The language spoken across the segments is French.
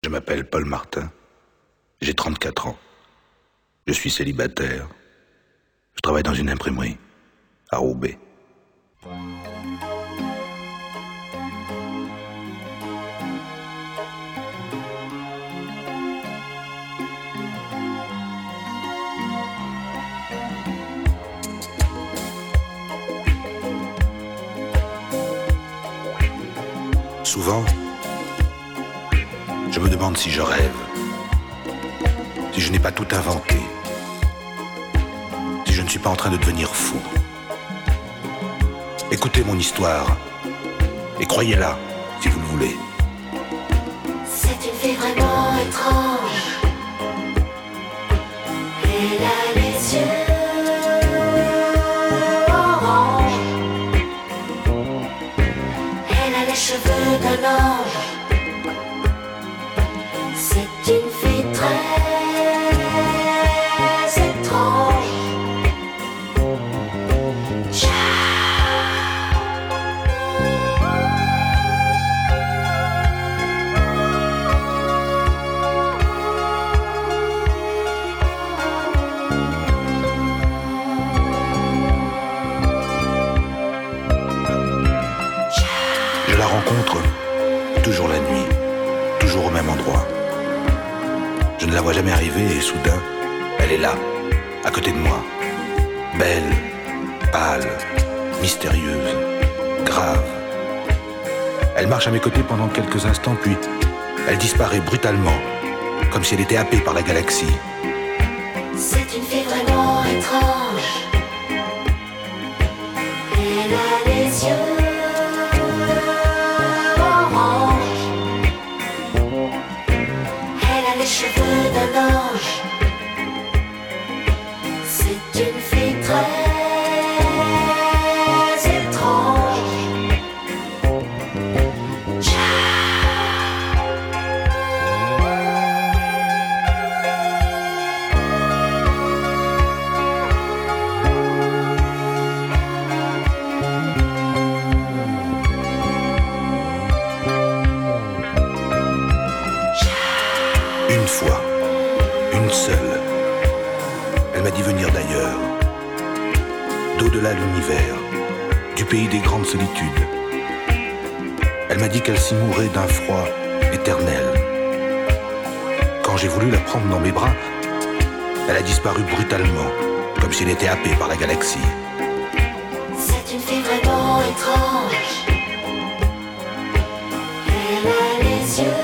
Je m'appelle Paul Martin. J'ai 34 ans. Je suis célibataire. Je travaille dans une imprimerie à Roubaix. Souvent, je me demande si je rêve, si je n'ai pas tout inventé, si je ne suis pas en train de devenir fou. Écoutez mon histoire et croyez-la si vous le voulez. C'est une fille vraiment étrange. Elle a les yeux orange. Elle a les cheveux d'un ange. C'est une fille très étrange. Je la rencontre toujours la nuit, toujours au même endroit. Je ne la vois jamais arriver et soudain, elle est là, à côté de moi. Belle, pâle, mystérieuse, grave. Elle marche à mes côtés pendant quelques instants, puis elle disparaît brutalement, comme si elle était happée par la galaxie. C'est une fille vraiment étrange. Elle a les yeux orange. Elle a les cheveux d'un ange. C'est une fille très étrange. Une fois, une seule, elle m'a dit venir d'ailleurs, d'au-delà de l'univers, du pays des grandes solitudes. Elle m'a dit qu'elle s'y mourait d'un froid éternel. Quand j'ai voulu la prendre dans mes bras, elle a disparu brutalement, comme si elle était happée par la galaxie. C'est une fille vraiment étrange. Elle a les yeux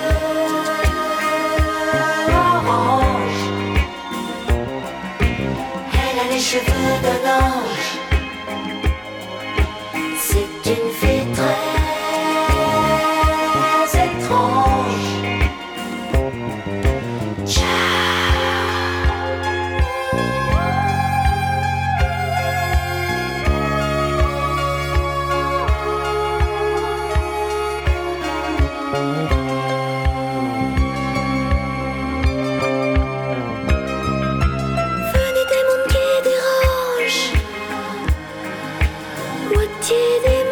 orange. Elle a les cheveux d'un ange. C'est une fille très étrange. Venez des mondes qui dérangent, moitié des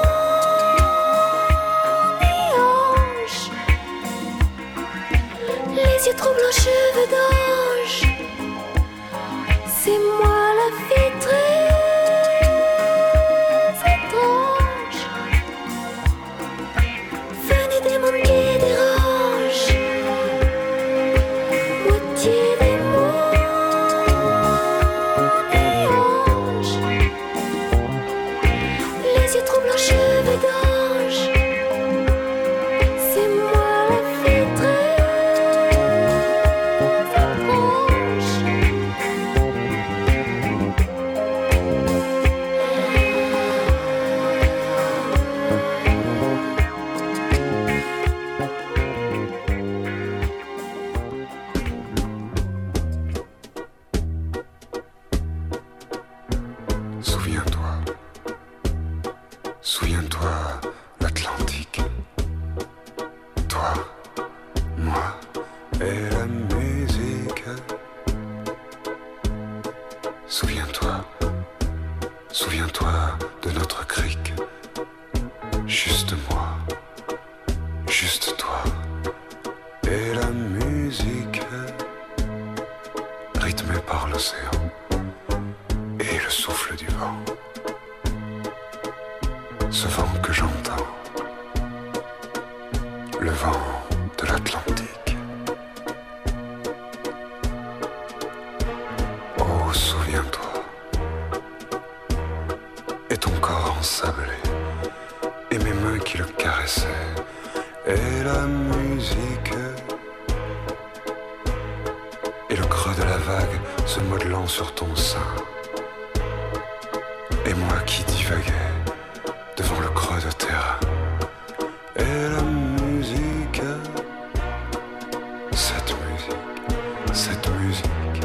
mondes et anges. Les yeux troublants, cheveux d'ange. C'est moi la fille très étrange. Venez des mondes qui dérangent, moitié des mondes et anges. Les yeux troublants, cheveux d'ange. C'est moi la fille très étrange. Souviens-toi, souviens-toi, l'Atlantique. Toi, moi et la musique. Souviens-toi, souviens-toi de notre crique. Juste moi, juste toi et la musique rythmée par l'océan et le souffle du vent. Ce vent que j'entends, le vent de l'Atlantique. Oh, souviens-toi, et ton corps ensablé, et mes mains qui le caressaient, et la musique, et le creux de la vague se modelant sur ton sein, et moi qui divaguais devant le creux de terrain, et la musique, cette musique,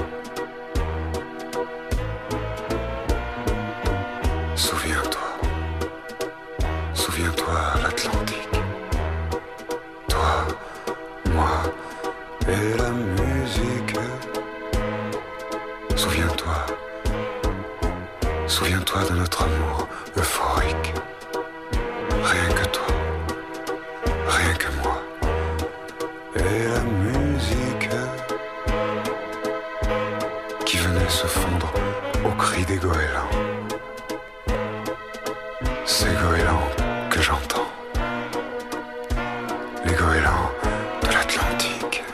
souviens-toi, souviens-toi l'Atlantique, toi, moi et la musique, souviens-toi, souviens-toi de notre amour euphorique. Rien que toi, rien que moi, et la musique qui venait se fondre au cri des goélands, ces goélands que j'entends, les goélands de l'Atlantique.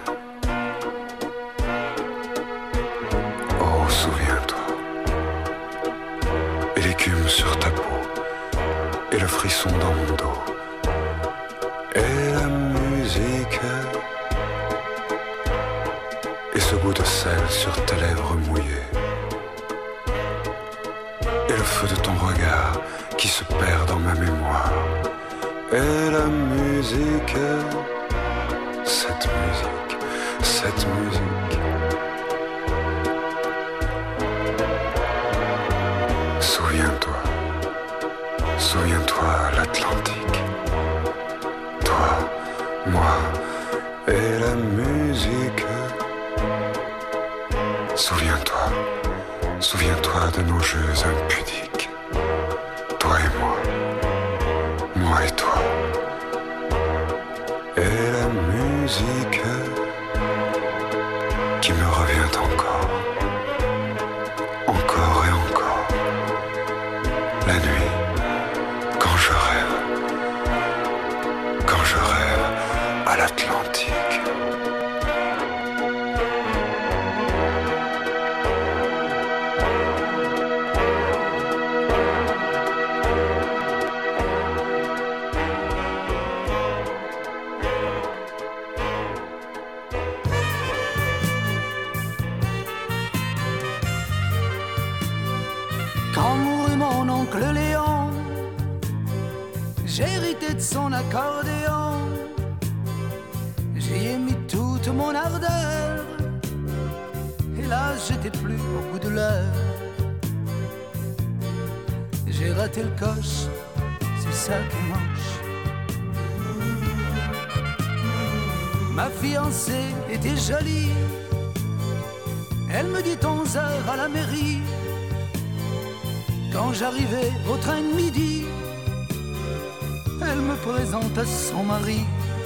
Oh, souviens-toi, et l'écume sur ta peau, et le frisson dans mon dos, et la musique, et ce goût de sel sur tes lèvres mouillées, et le feu de ton regard qui se perd dans ma mémoire, et la musique, cette musique, cette musique. Souviens-toi. Souviens-toi l'Atlantique, toi, moi et la musique. Souviens-toi, souviens-toi de nos jeux impudiques, toi et moi et toi. Et la musique qui me revient encore, encore et encore, la nuit. Quand je rêve à l'Atlantique. Quand mourut mon oncle Léon, j'ai hérité de son accordéon. J'y ai mis toute mon ardeur. Hélas, j'étais plus au bout de l'heure. J'ai raté le coche, c'est ça qui manche. Ma fiancée était jolie. Elle me dit 11 heures à la mairie. Quand j'arrivais au train de midi, elle me présente à son mari.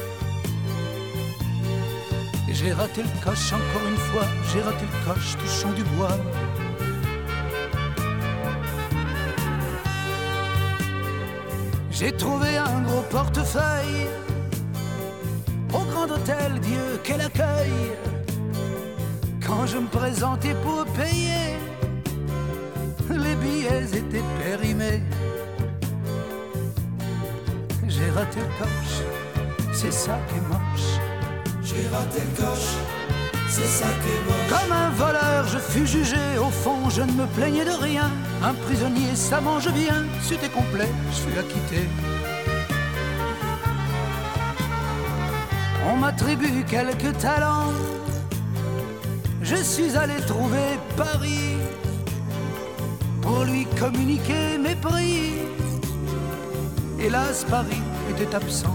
J'ai raté le coche encore une fois, j'ai raté le coche touchant du bois. J'ai trouvé un gros portefeuille au grand hôtel, Dieu quel accueil. Quand je me présentais pour payer, les billets étaient périmés. J'ai raté le coche, c'est ça qui est moche. J'ai raté le coche, c'est ça qui est moche. Comme un voleur, je fus jugé. Au fond, je ne me plaignais de rien. Un prisonnier, ça mange bien. C'était complet, je fus acquitté. On m'attribue quelques talents. Je suis allé trouver Paris pour lui communiquer mes prix. Hélas, Paris était absent.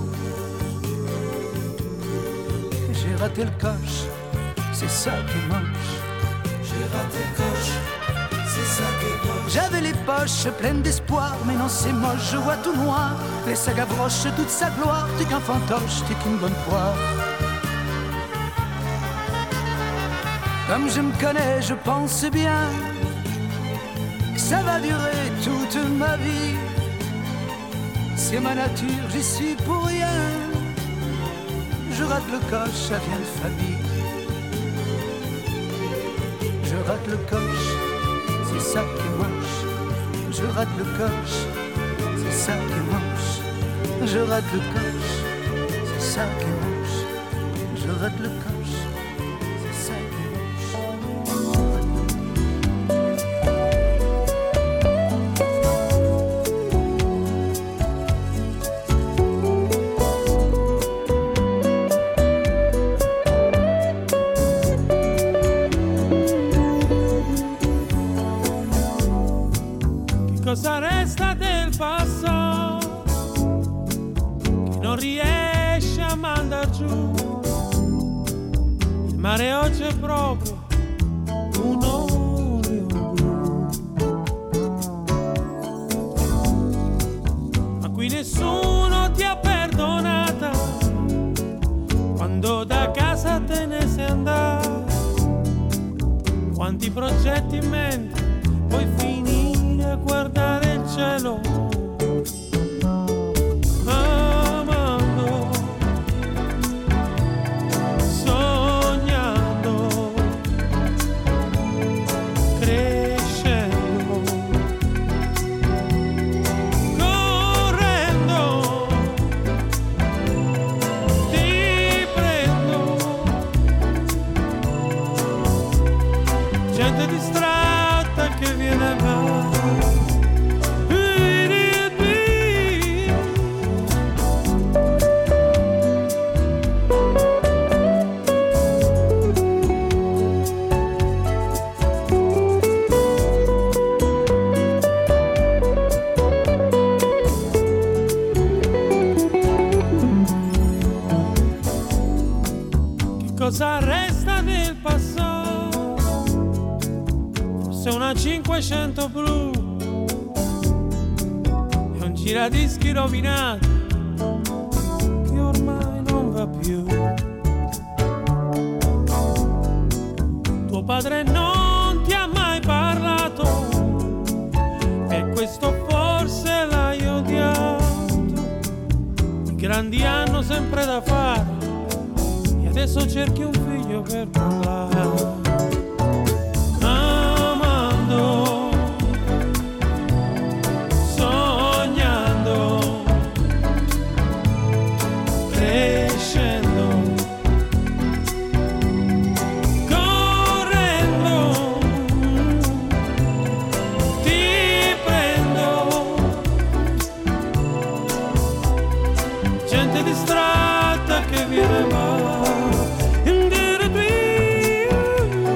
J'ai raté le coche, c'est ça qui est moche. J'ai raté le coche, c'est ça qui est moche. J'avais les poches pleines d'espoir, mais non c'est moche, je vois tout noir. Les sagas brochent toute sa gloire, t'es qu'un fantoche, t'es qu'une bonne poire. Comme je me connais, je pense bien que ça va durer toute ma vie. C'est ma nature, j'y suis pour rien. Je rate le coche, ça vient de famille. Je rate le coche, c'est ça qui est moche. Je rate le coche, c'est ça qui est moche. Je rate le coche, c'est ça qui est moche. Je rate le coche, c'est ça qui est moche. Cosa resta del passato che non riesce a mandar giù? Il mare oggi è proprio un olio blu, ma qui nessuno ti ha perdonata quando da casa te ne sei andato. Quanti progetti in mente puoi finire a guardare il cielo, amando, sognando, crescendo, correndo, ti prendo, gente distratta che viene e va. Cosa resta del passato? Forse una 500 blu e un giradischi rovinato che ormai non va più. Tuo padre non ti ha mai parlato, per questo forse l'hai odiato. I grandi hanno sempre da fare, adesso cerchi un figlio per parlare. Amando, sognando, crescendo, correndo, ti prendo, gente distratta che viene e va.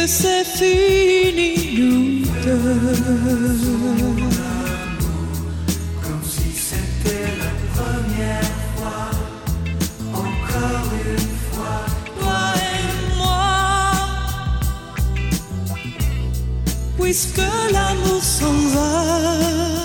puisque c'est fini nous deux. Comme si c'était la première fois, encore une fois. Toi et moi, puisque l'amour s'en va.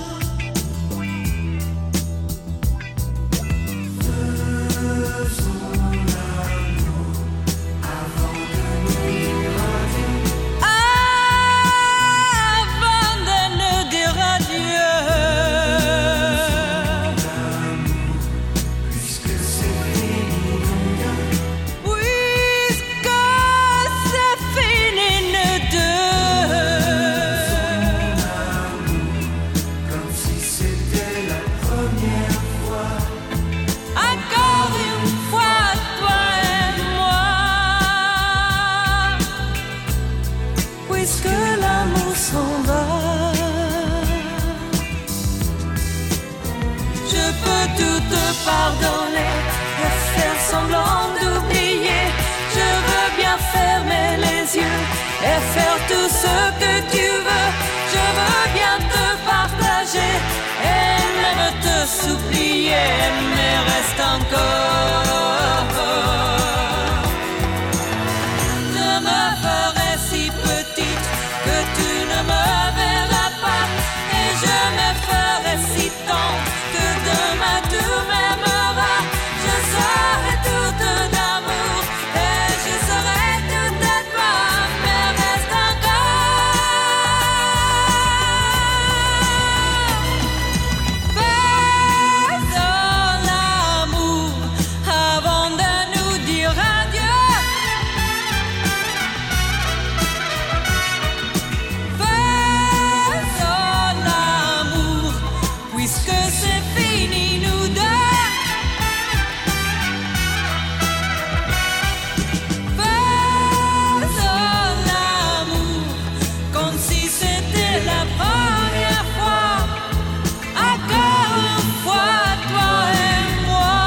Pardonner et faire semblant d'oublier. Je veux bien fermer les yeux et faire tout ce que tu veux. Je veux bien te partager et même te supplier, mais reste encore. Je me ferai si petite que tu ne me verras pas, et je me ferai si tendre que demain tu m'aimeras. Je serai toute d'amour et je serai toute à toi, mais reste encore. Faisons l'amour avant de nous dire adieu. Faisons l'amour puisque c'est fini nous deux. Faisons l'amour comme si c'était la première fois. Encore une fois, toi et moi,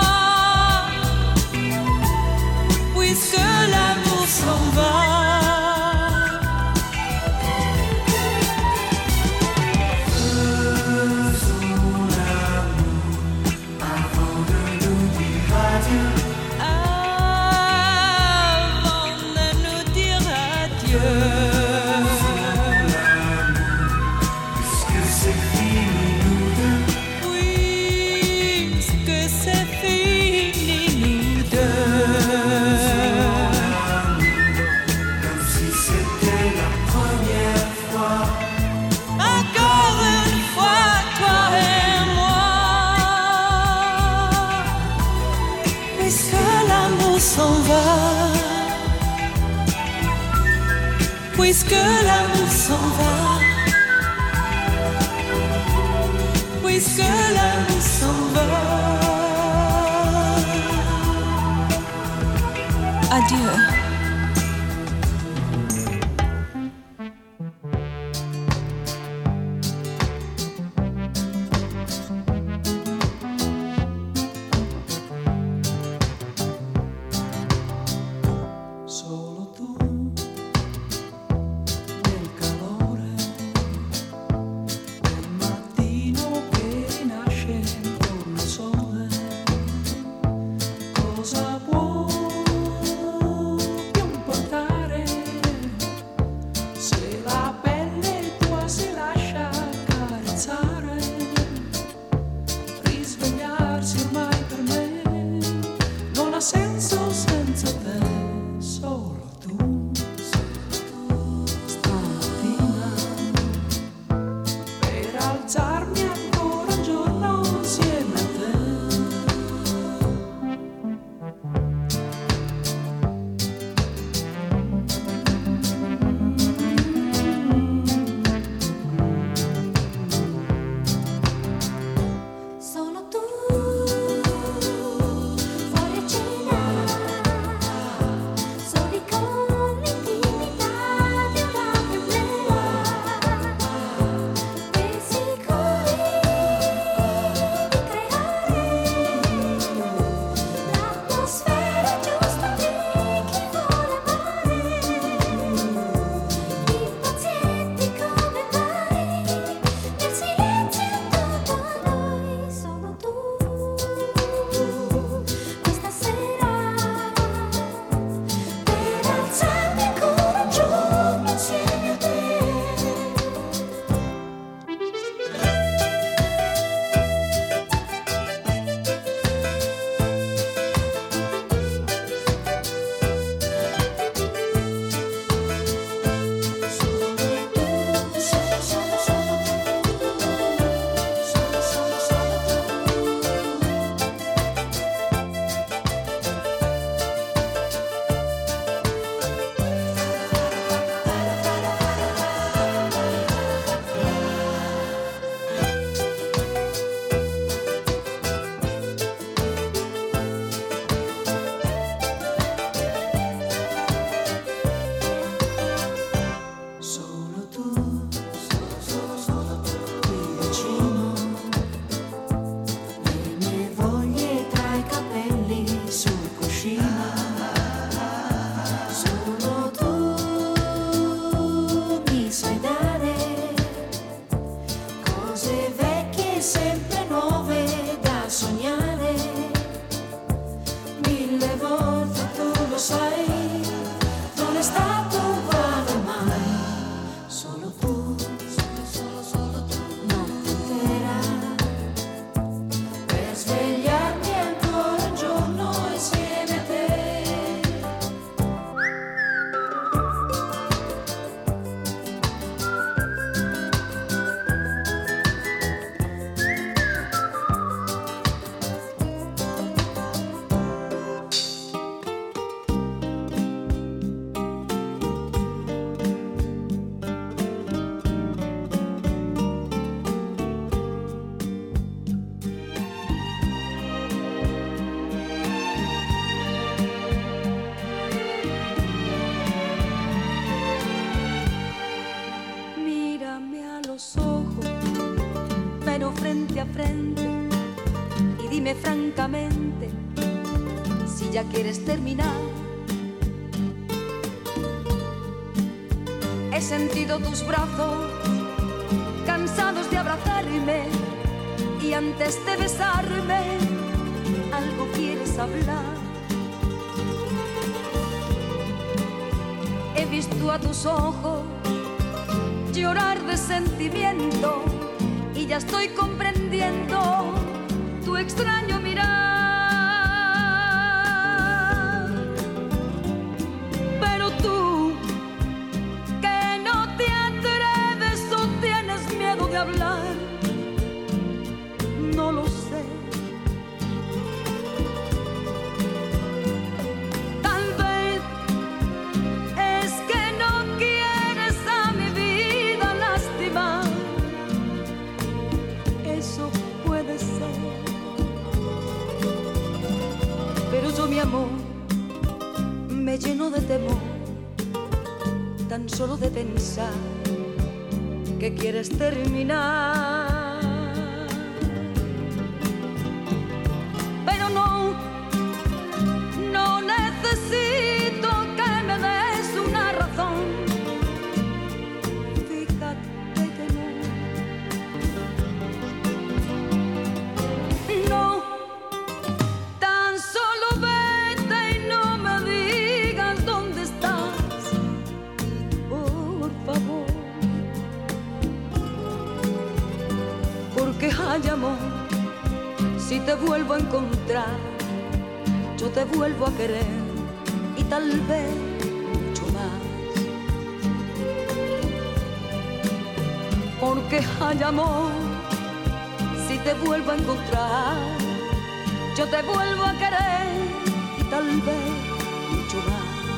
puisque l'amour s'en va. Avant de nous dire adieu. Puisque c'est fini nous deux. Puisque c'est fini nous deux. Comme si c'était la première fois. Encore une fois, toi et moi, puisque l'amour s'en va, puisque l'amour s'en va, puisque l'amour s'en va. Adieu. Solo tu nel calore del mattino che nasce intorno al sole. Cosa può Dime francamente si ya quieres terminar. He sentido tus brazos cansados de abrazarme y antes de besarme algo quieres hablar. He visto a tus ojos llorar de sentimiento y ya estoy comprendiendo tu extraño mirar. Pero tú, que no te atreves o tienes miedo de hablar, no lo sé. Tal vez es que no quieres a mi vida lastimar. Eso puede ser. Pero yo, mi amor, me lleno de temor tan solo de pensar que quieres terminar. Pero no necesito que me des una razón. Fíjate que no. Tan solo vete y no me digas dónde estás, por favor. Porque hay amor, si te vuelvo a encontrar, yo te vuelvo a querer y tal vez mucho más. Porque hay amor, si te vuelvo a encontrar, yo te vuelvo a querer y tal vez mucho más.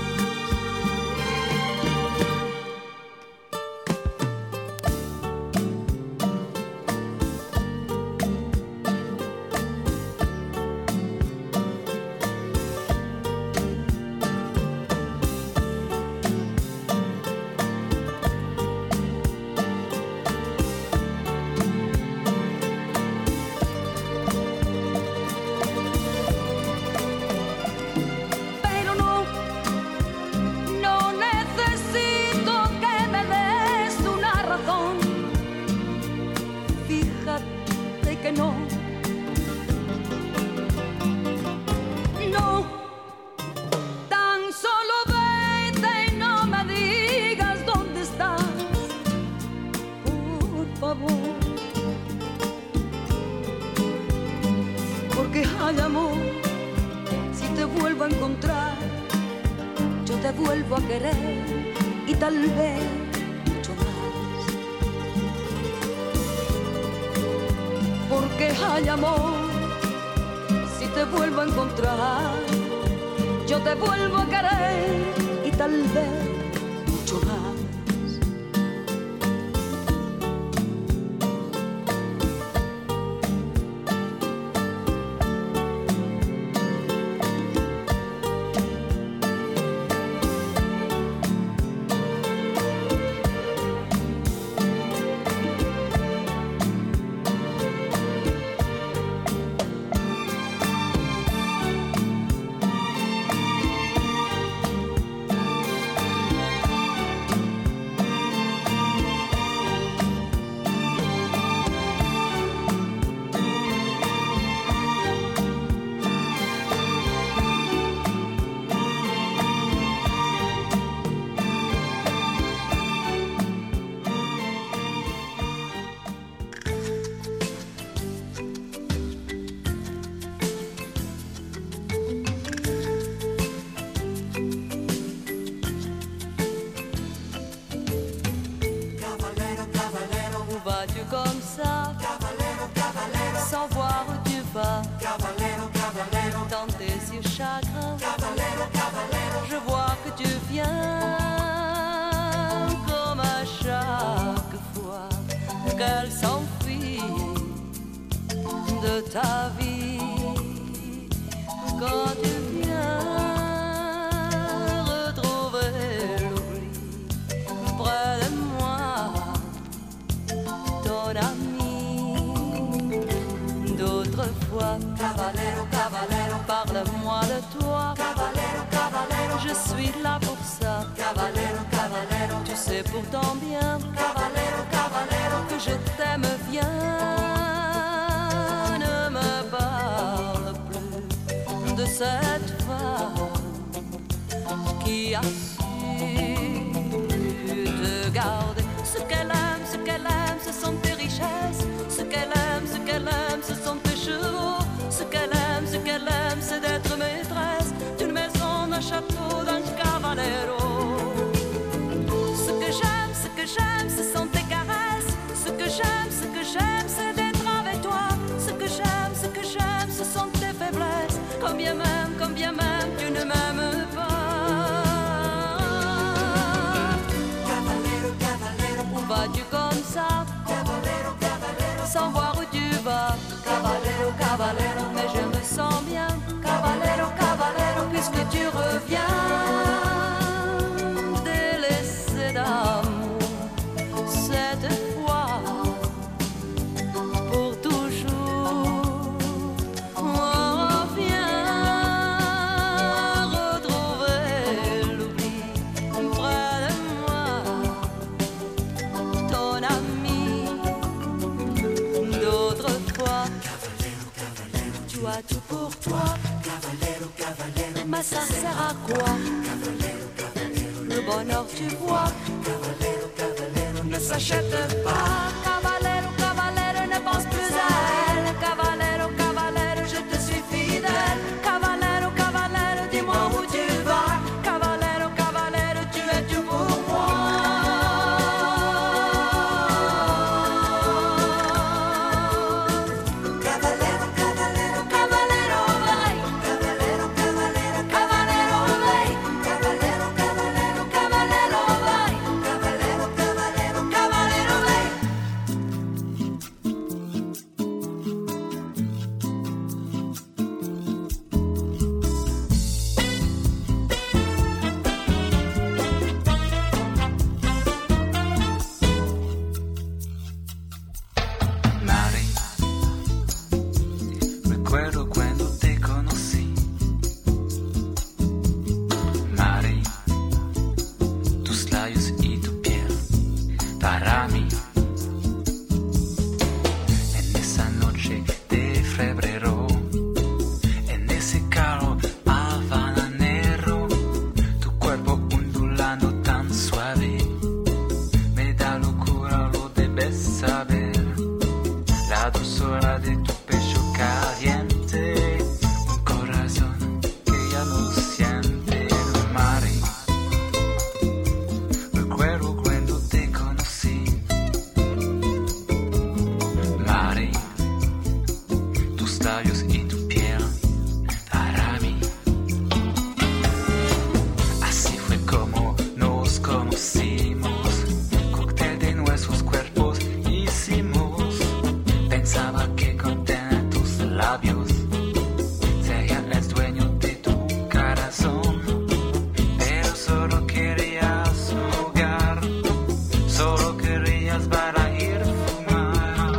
Hay amor, si te vuelvo a encontrar, yo te vuelvo a querer y tal vez mucho más. Porque hay amor, si te vuelvo a encontrar, yo te vuelvo a querer y tal vez mucho más. Dans tes yeux chagrins, je vois que tu viens comme à chaque fois qu'elle s'enfuit de ta vie. Quand tu viens retrouver l'oubli près de moi, ton ami d'autrefois. être là pour ça. Caballero, caballero, tu sais pourtant bien, caballero, caballero, que je t'aime bien. Ne me parle plus de cette femme qui a su te garder. Ce qu'elle aime, ce sont tes richesses. Ce qu'elle aime, ce sont tes chevaux. Ce qu'elle aime, c'est d'être maîtresse d'une maison, d'un château, d'un caballero. Ce que j'aime, ce sont tes caresses. Ce que j'aime, c'est d'être avec toi. Ce que j'aime, ce sont tes faiblesses. Combien même, tu ne m'aimes pas. caballero, caballero, Où vas-tu comme ça, caballero, caballero, sans voir où tu vas? caballero, caballero, Mais je me sens bien, caballero, caballero, puisque tu reviens, délaissé d'amour, cette fois, pour toujours. On vient retrouver l'oubli près de moi, ton ami d'autrefois. Tu as tout pour toi, caballero, caballero, mais ça sert à quoi? Le bonheur, tu vois, caballero, caballero, ne s'achète pas. Caballero, caballero, ne pense plus à elle. Caballero, caballero, je te suis fidèle. Caballero, caballero, dis-moi où tu vas. Caballero, caballero, tu es tout pour moi. caballero, caballero, Caballero, vai. caballero, caballero, Caballero, vai. caballero, caballero, Caballero, vai. caballero, caballero, Caballero, vai. Mari, recuerdo cuando te conocí. Mari, tus labios y tu piel para mí. En esa noche de febrero, en ese calor habanero, tu cuerpo ondulando tan suave, me da locura, lo debes saber. La dulzura de tu pecho caliente, un corazón que ya no siente. Mari, recuerdo cuando te conocí. Mari, tus labios y tu piel para mí. Así fue como nos conocimos, cóctel de nuestros cuerpos hicimos. Pensaba que con tener tus labios sería el dueño de tu corazón, pero solo querías jugar, solo querías para ir a fumar.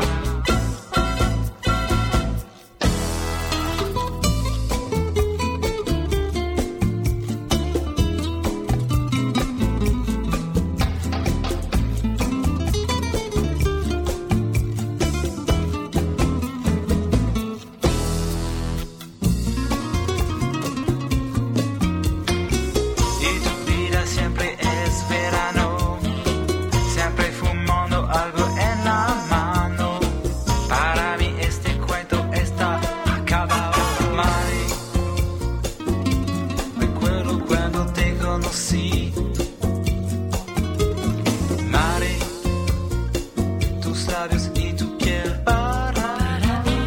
Y tu vida siempre es verano, siempre fumando algo en la mano. Para mí este cuento está acabado. Mari, recuerdo cuando te conocí. Mari, tus labios y tu piel para mí.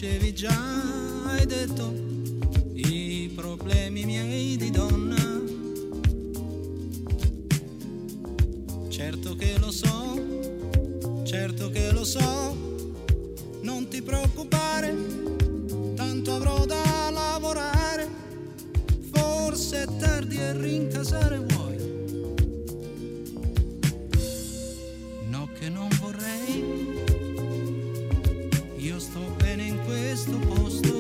conoscevi già, hai detto i problemi miei di donna. Certo che lo so, certo che lo so, non ti preoccupare, tanto avrò da lavorare, forse è tardi e rincasare vuoi. No che non vorrei, io sto bene in questo posto.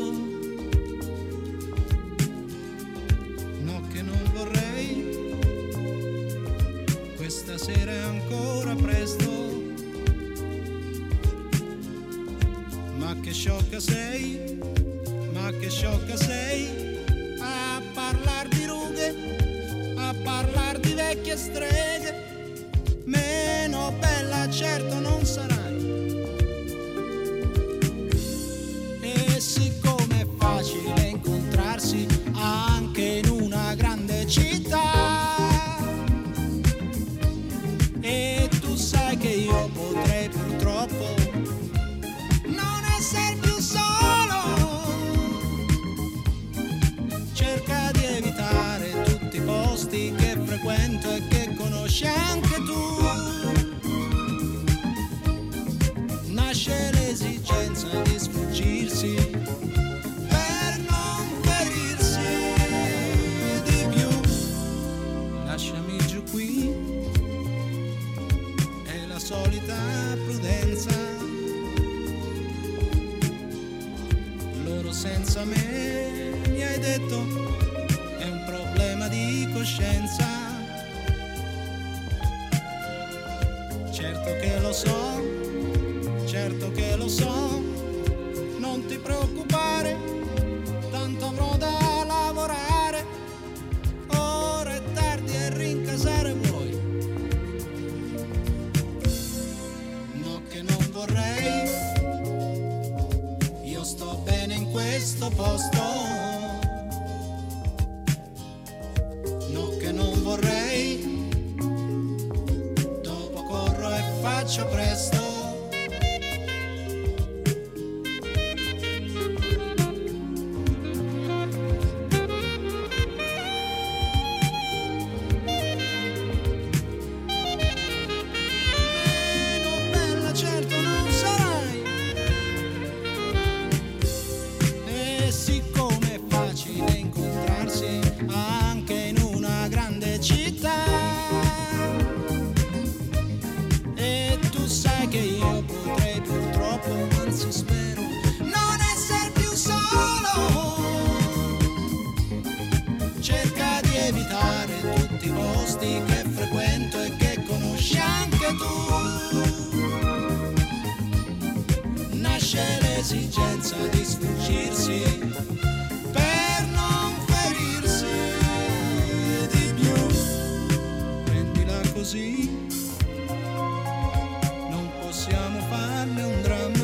No che non vorrei, questa sera è ancora presto. Ma che sciocca sei, ma che sciocca sei, a parlar di rughe, a parlar di vecchie streghe. Meno bella certo non sarai. E siccome è facile incontrarsi anche in una grande città, e tu sai che io potrei purtroppo non essere più solo, cerca di evitare tutti i posti che frequento e che conosci anche tu. Nasce l'esigenza di sfuggirsi per non ferirsi di più. Lasciami giù qui, è la solita prudenza. Loro senza me, mi hai detto, è un problema di coscienza. Certo che lo so, certo che lo so, non ti preoccupare, tanto avrò da lavorare, ora è tardi e rincasare vuoi. No che non vorrei, io sto bene in questo posto. No che non vorrei, dopo corro e faccio presto. Che frequento e che conosci anche tu. Nasce l'esigenza di sfuggirsi per non ferirsi di più. Prendila così, non possiamo farne un dramma.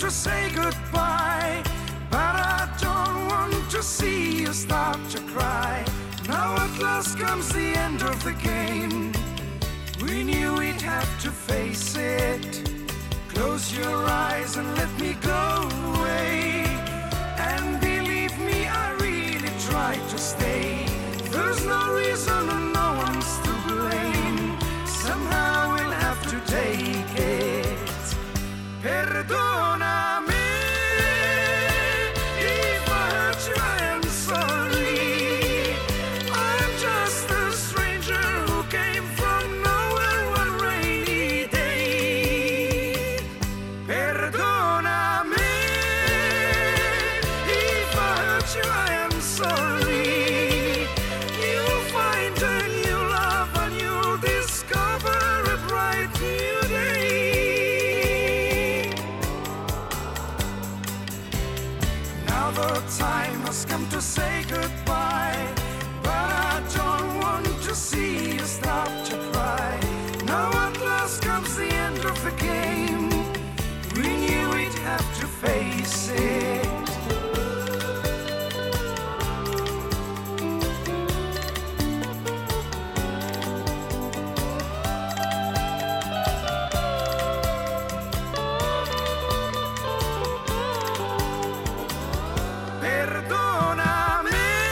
to say goodbye, but I don't want to see you start to cry. Now at last comes the end of the game. We knew we'd have to face it. Close your eyes and let me go away. And believe me, I really tried to stay. There's no reason and no one's to blame. Somehow we'll have to take it. Perdoname. If I hurt you, I am sorry. I'm just a stranger who came from nowhere one rainy day. Perdoname. If I hurt you, I am sorry. You'll find a new love and you'll discover a bright new day. Now the time has come to say goodbye, but I don't want to see you start to cry. Now at last comes the end of the game. We knew we'd have to face it. Perdoname.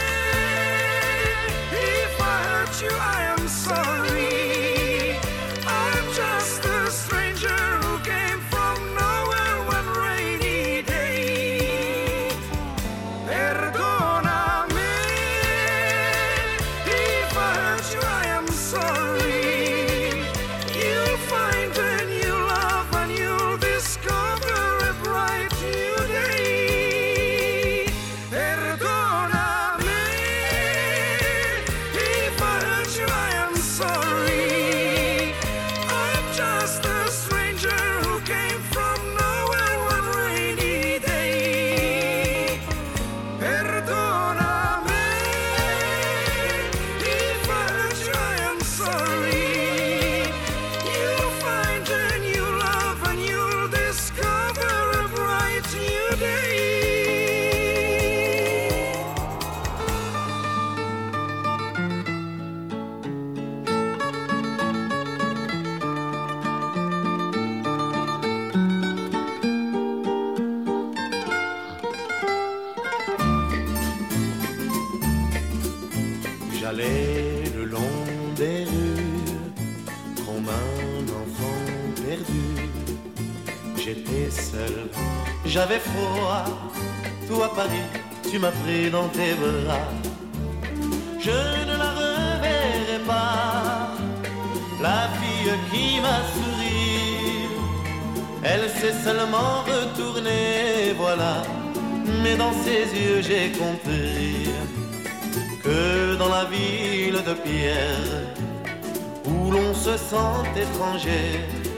If I hurt you, I am sorry. I'm just a stranger who came from nowhere one rainy day. Perdoname. If I hurt you, I am sorry. You'll find a new love and you'll discover a bright new day. Perdoname. If I hurt you, I am sorry. I'm just a stranger who came from nowhere one rainy day. Perdoname. If I hurt you, I am sorry. You'll find a new love and you'll discover a bright new day. J'allais le long des rues comme un enfant perdu. J'étais seul, j'avais froid. Toi Paris, tu m'as pris dans tes bras. Je ne la reverrai pas, la fille qui m'a souri. Elle s'est seulement retournée, voilà. Mais dans ses yeux j'ai compris que dans la ville de pierre, où l'on se sent étranger,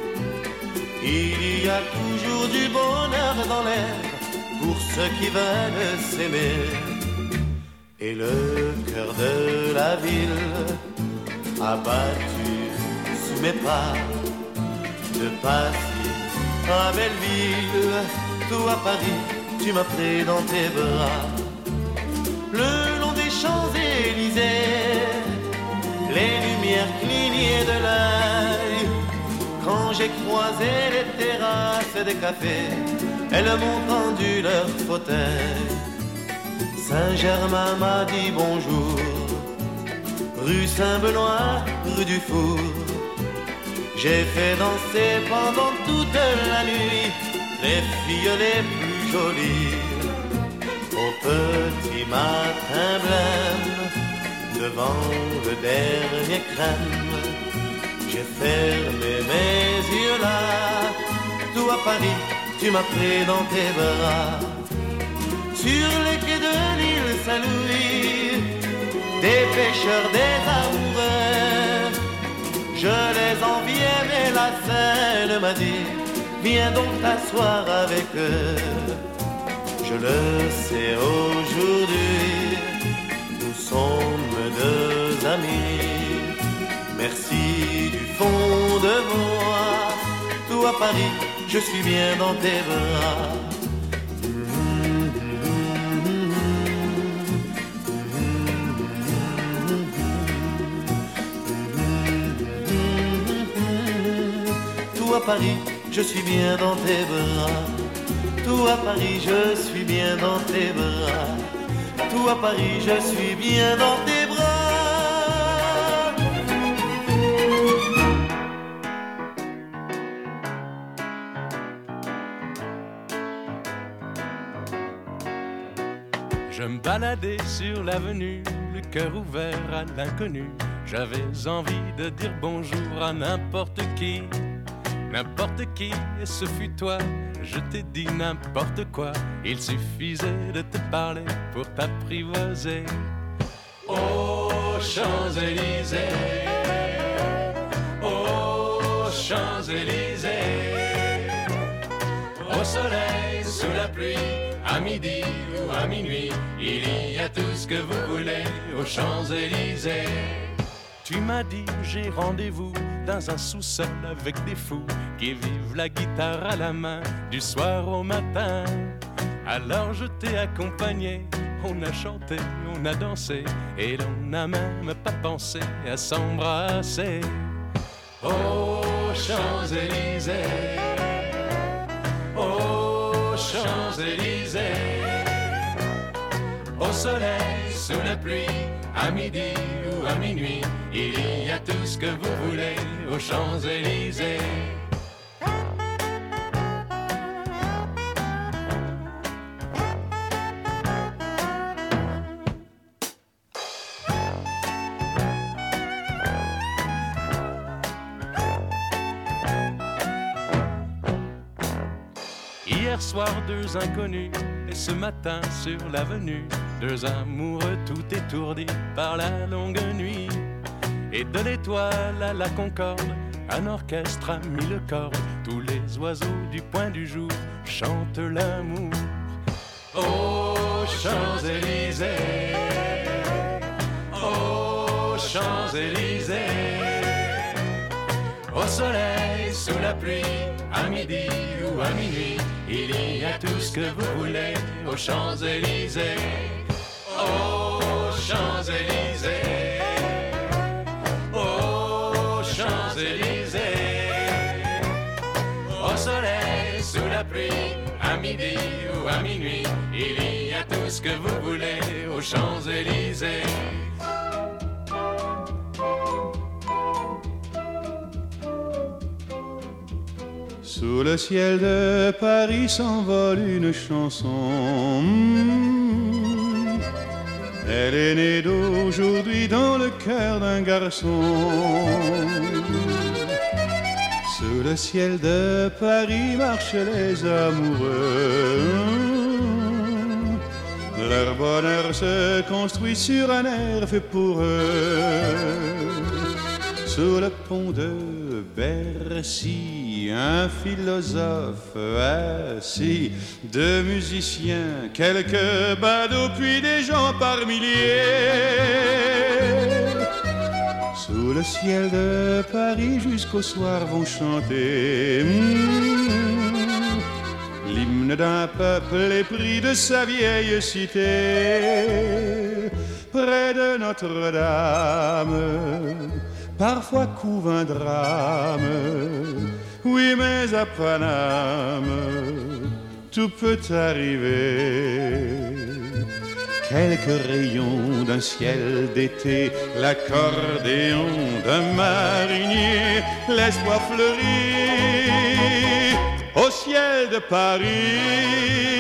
il y a toujours du bonheur dans l'air pour ceux qui veulent s'aimer. Et le cœur de la ville a battu sous mes pas, de Passy à Belleville, tout à Paris, tu m'as pris dans tes bras. Le long des Champs-Élysées, les lumières clignaient de l'œil. Quand j'ai croisé les terrasses des cafés, elles m'ont tendu leur fauteuil. Saint-Germain m'a dit bonjour, rue Saint-Benoît, rue du Four. J'ai fait danser pendant toute la nuit les filles les plus jolies. Au petit matin blême, devant le dernier crème, j'ai fermé mes yeux là. Tout à Paris, tu m'as pris dans tes bras. Sur les quais de l'île Saint-Louis, des pêcheurs, des amoureux, je les enviais, mais la Seine m'a dit, viens donc t'asseoir avec eux. Je le sais aujourd'hui, nous sommes deux amis. Merci du fond de moi, tout à Paris, je suis bien dans tes bras. Tout à Paris, je suis bien dans tes bras. Tout à Paris, je suis bien dans tes bras. Tout à Paris, je suis bien dans tes bras. Je me baladais sur l'avenue, le cœur ouvert à l'inconnu. J'avais envie de dire bonjour à n'importe qui, et ce fut toi. Je t'ai dit n'importe quoi, il suffisait de te parler pour t'apprivoiser. Aux Champs-Élysées, aux Champs-Élysées, au soleil, sous la pluie, à midi ou à minuit, il y a tout ce que vous voulez aux Champs-Élysées. Tu m'as dit j'ai rendez-vous dans un sous-sol avec des fous qui vivent la guitare à la main du soir au matin. Alors je t'ai accompagné, on a chanté, on a dansé et l'on n'a même pas pensé à s'embrasser. Aux Champs-Élysées, aux Champs-Élysées, au soleil, sous la pluie, à midi ou à minuit, il y a tout ce que vous voulez aux Champs-Élysées. Hier soir, deux inconnus, et ce matin sur l'avenue, deux amoureux tout étourdis par la longue nuit. Et de l'étoile à la Concorde, un orchestre a mis le corps. Tous les oiseaux du point du jour chantent l'amour. Aux Champs-Élysées, aux Champs-Élysées, au soleil, sous la pluie, à midi ou à minuit, il y a tout ce que vous voulez aux Champs-Élysées. Aux Champs-Élysées, aux Champs-Élysées, au soleil, sous la pluie, à midi ou à minuit, il y a tout ce que vous voulez aux Champs-Élysées. Sous le ciel de Paris s'envole une chanson. Elle est née d'aujourd'hui dans le cœur d'un garçon. Sous le ciel de Paris marchent les amoureux. Leur bonheur se construit sur un air fait pour eux. Sous le pont de Bercy, un philosophe assis, deux musiciens, quelques badauds, puis des gens par milliers. Sous le ciel de Paris, jusqu'au soir vont chanter l'hymne d'un peuple épris de sa vieille cité. Près de Notre-Dame, parfois couve un drame, oui, mais à Paname, tout peut arriver. Quelques rayons d'un ciel d'été, l'accordéon d'un marinier, l'espoir fleurit au ciel de Paris.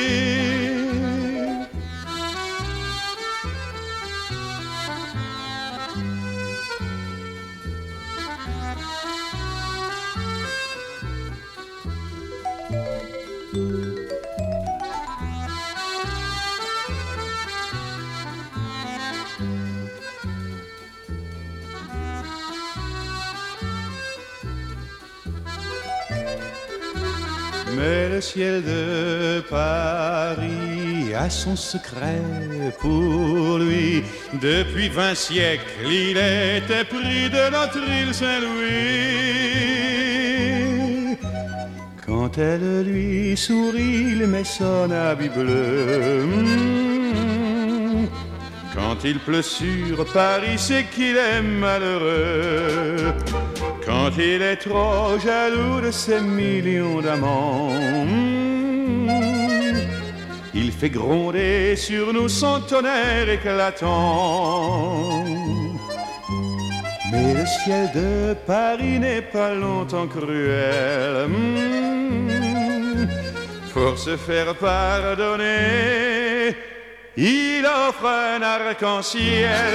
Mais le ciel de Paris a son secret pour lui. Depuis 20 siècles, il était pris de notre île Saint-Louis. Quand elle lui sourit, il met son habit bleu. Quand il pleut sur Paris, c'est qu'il est malheureux. Quand il est trop jaloux de ses millions d'amants, il fait gronder sur nous son tonnerre éclatant. Mais le ciel de Paris n'est pas longtemps cruel. Pour se faire pardonner, il offre un arc-en-ciel.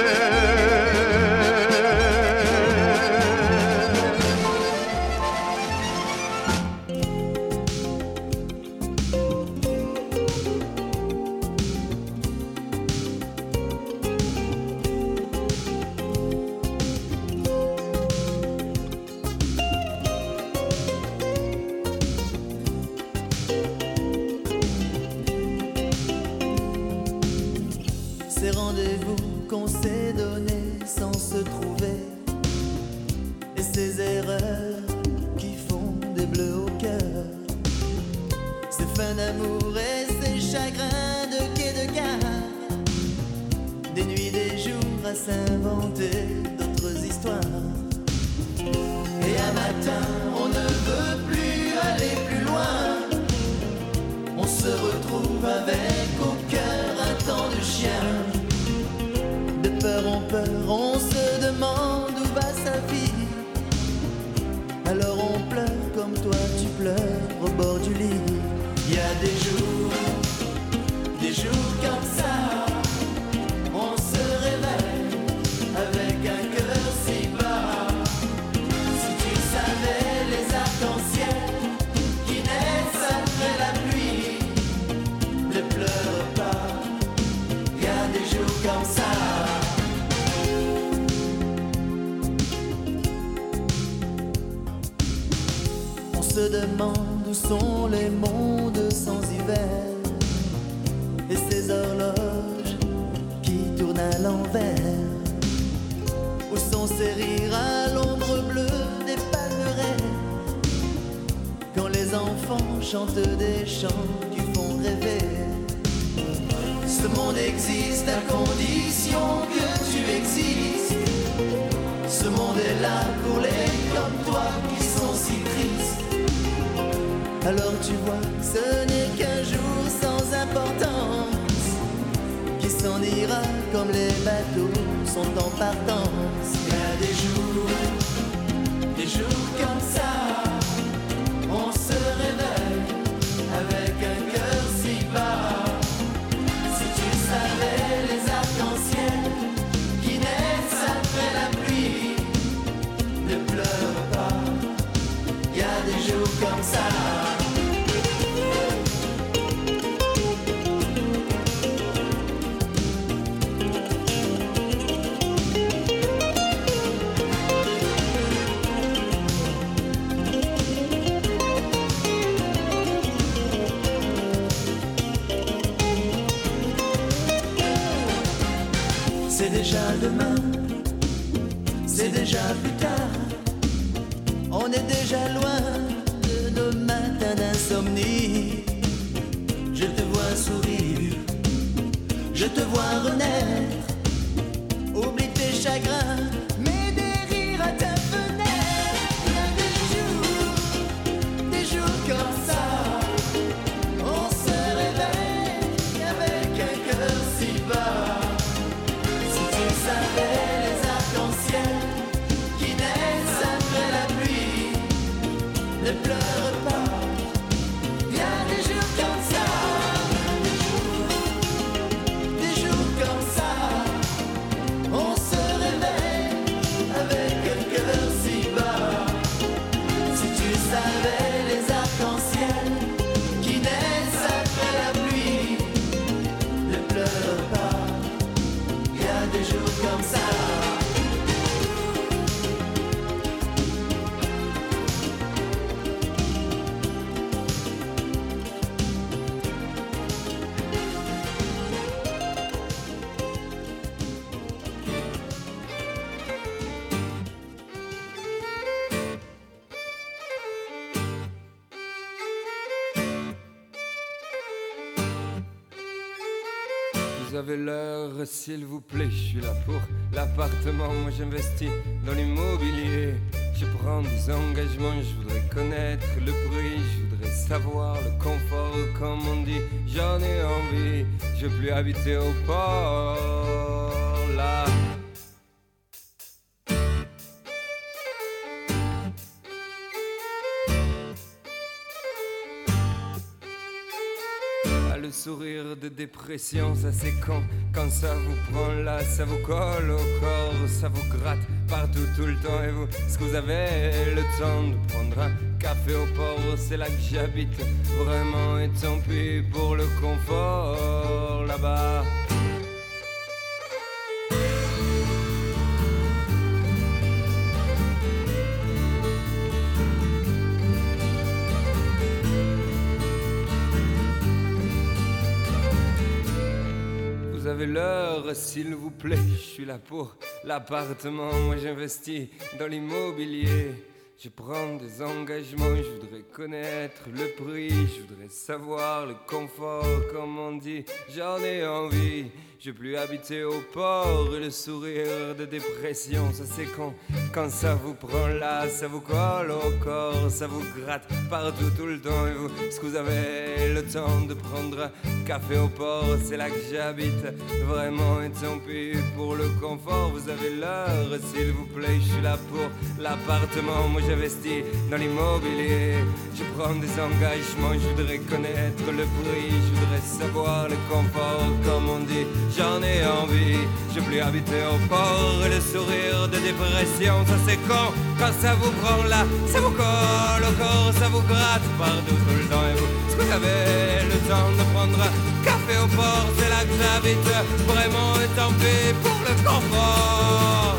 Ces rendez-vous qu'on s'est donnés sans se trouver, et ces erreurs qui font des bleus au cœur, ces fins d'amour et ces chagrins de quai de gare, des nuits, des jours à s'inventer d'autres histoires. Et un matin, on ne veut plus aller plus loin, on se retrouve avec au cœur un temps de chien. De peur en peur, on se demande où va sa vie. Alors on pleure comme toi tu pleures au bord du lit. Il y a des jours comme ça, on se réveille avec un cœur si bas. Si tu savais les arcs-en-ciel qui naissent après la pluie, ne pleure pas, il y a des jours comme ça. On se demande où sont les mondes sans hiver, et ces horloges qui tournent à l'envers. Où sont ces rires à l'ombre bleue des palmeraies, quand les enfants chantent des chants qui font rêver. Ce monde existe à condition que tu existes. Ce monde est là pour les comme toi qui sont si tristes. Alors tu vois, ce n'est qu'un jour sans importance, qui s'en ira comme les bateaux sont en partance. Il y a des jours comme ça, on se réveille avec un cœur si bas. Si tu savais les arcs-en-ciel qui naissent après la pluie, ne pleure pas, il y a des jours comme ça. C'est déjà demain, c'est déjà plus tard. On est déjà loin de nos matins d'insomnie. Je te vois sourire, je te vois renaître. Oublie tes chagrins, mets des rires à ta fenêtre. Il y a des jours comme ça, on se réveille avec un cœur si bas. Les arcs-en-ciel qui naissent après la pluie, ne pleure pas, il y a des jours comme ça, des jours comme ça, on se réveille Vous avez l'heure, s'il vous plaît, je suis là pour l'appartement. Moi j'investis dans l'immobilier. Je prends des engagements, je voudrais connaître le prix, je voudrais savoir le confort, comme on dit. J'en ai envie, je veux plus habiter au port là. Le sourire de dépression, ça c'est quand ça vous prend là, ça vous colle au corps, ça vous gratte partout tout le temps. Et vous, est-ce que vous avez le temps de prendre un café au port? C'est là que j'habite vraiment, et tant pis pour le confort là-bas. Vous avez l'heure, s'il vous plaît, je suis là pour l'appartement. Moi j'investis dans l'immobilier. Je prends des engagements, je voudrais connaître le prix, je voudrais savoir le confort, comme on dit. J'en ai envie, je veux plus habiter au port. Et le sourire de dépression, ça c'est quand ça vous prend là, ça vous colle au corps, ça vous gratte partout tout le temps. Et vous, est-ce que vous avez le temps de prendre un café au port? C'est là que j'habite vraiment, et tant pis pour le confort. Vous avez l'heure, s'il vous plaît, je suis là pour l'appartement. Moi j'investis dans l'immobilier. Je prends des engagements, je voudrais connaître le prix, je voudrais savoir le confort, comme on dit. J'en ai envie, je veux plus habiter au port. Et le sourire de dépression, ça c'est quand ça vous prend là, ça vous colle au corps, ça vous gratte partout tout le temps. Et vous, est-ce que vous avez le temps de prendre un café au port? C'est là que j'habite vraiment, et tant pis pour le confort.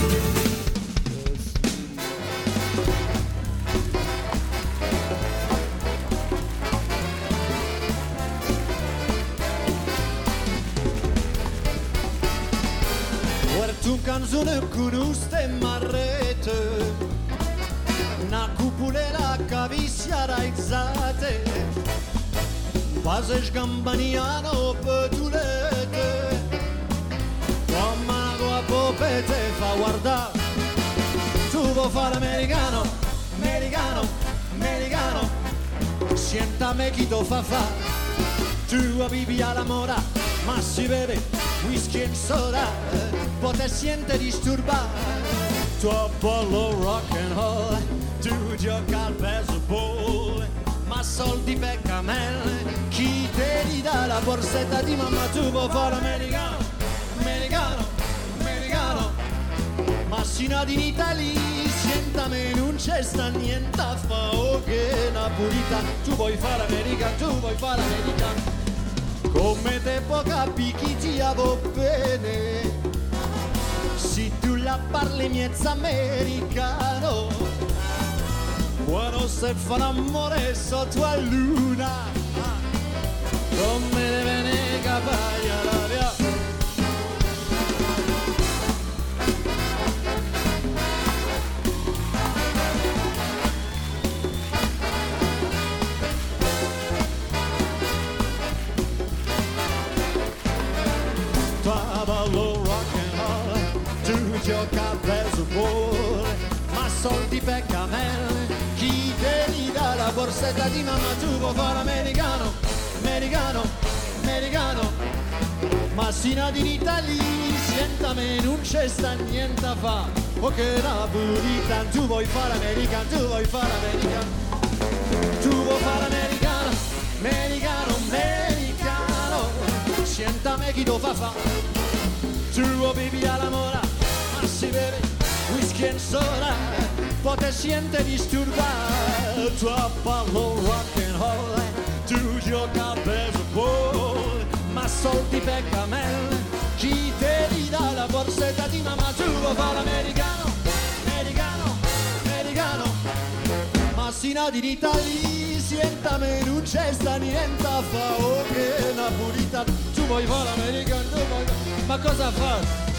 Tu canzone con uste marrete, una cupulera caviccia raizzate, quasi sgambaniano petulete, come una tua popete fa guardare, tu vuoi fare americano, americano, americano, siéntame chi to fa fa, tu vivi alla mora, ma si vede whisky e soda, poi te siente disturbare. Tu ballo rock and roll, tu gioca al baseball, ma soldi per camelle, chi te li dà la borsetta di mamma? Tu vuoi fare americano, americano, americano, ma sino ad in Italia, sientame non c'è sta niente a fa, oh che napolitano, tu vuoi fare americano, tu vuoi fare americano. Come te può capire chi ti avo bene, se tu la parli miezza americano, quando se fa l'amore sotto a luna, come deve ne capire la via. Ballo rock and roll, tu gioca a baseball, ma soldi per camelle, chi te li dà la borsetta di mamma? Tu vuoi fare americano, americano, americano, ma sino ad in Italia, sientame non c'è sta niente a fa, oh che napolitano, tu vuoi fare americano, tu vuoi fare americano, tu vuoi fare americano, americano, americano, sientame chi to fa. Tu vivi alla mora, ma si beve whisky e soda, poi te siente disturbare. Tu ballo rock and roll, tu gioca a baseball, ma soldi per camelle, chi te li dà la borsetta di mamma? Tu vuoi fare americano, americano, americano, ma sino ad in Italia, sientame non c'è sta niente a fa, oh che napolitano, tu vuoi fare americano, tu vuoi. Ma cosa fa?